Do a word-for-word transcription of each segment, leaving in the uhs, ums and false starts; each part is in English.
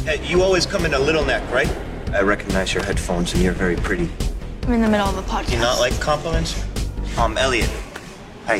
Hey, you always come in a little neck, right? I recognize your headphones, and you're very pretty. I'm in the middle of a podcast. Do you not like compliments? I'm Elliot. Hi.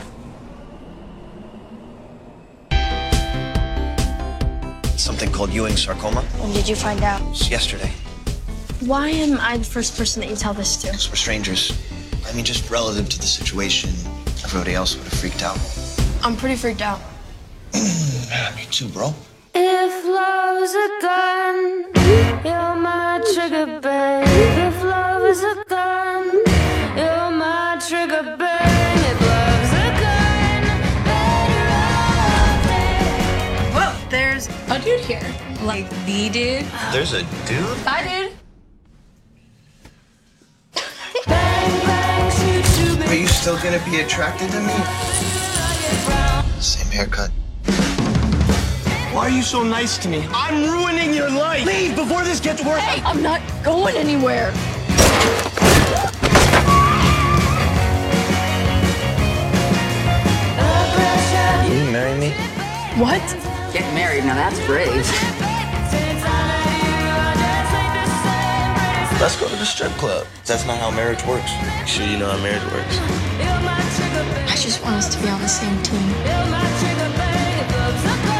Something called Ewing sarcoma. When did you find out? It's yesterday. Why am I the first person that you tell this to? Because we're strangers. I mean, just relative to the situation, everybody else would have freaked out. I'm pretty freaked out. Yeah, me too, bro. If love's a gun, you're my trigger, babe. If love is a gun, you're my trigger, babe. If love's a gun, better off dead. Whoa, there's a dude here. Like the dude. There's a dude? Hi, dude. Bang, bang, shoot, shoot, Are you still gonna be attracted to me? Same haircut. Why are you so nice to me? I'm ruining your life. Leave before this gets worse. Hey, I'm not going anywhere. Will you marry me? What? Get married, now that's brave. Let's go to the strip club. That's not how marriage works. You sure you know how marriage works? I just want us to be on the same team. You're my trigger, babe. If love's a gun.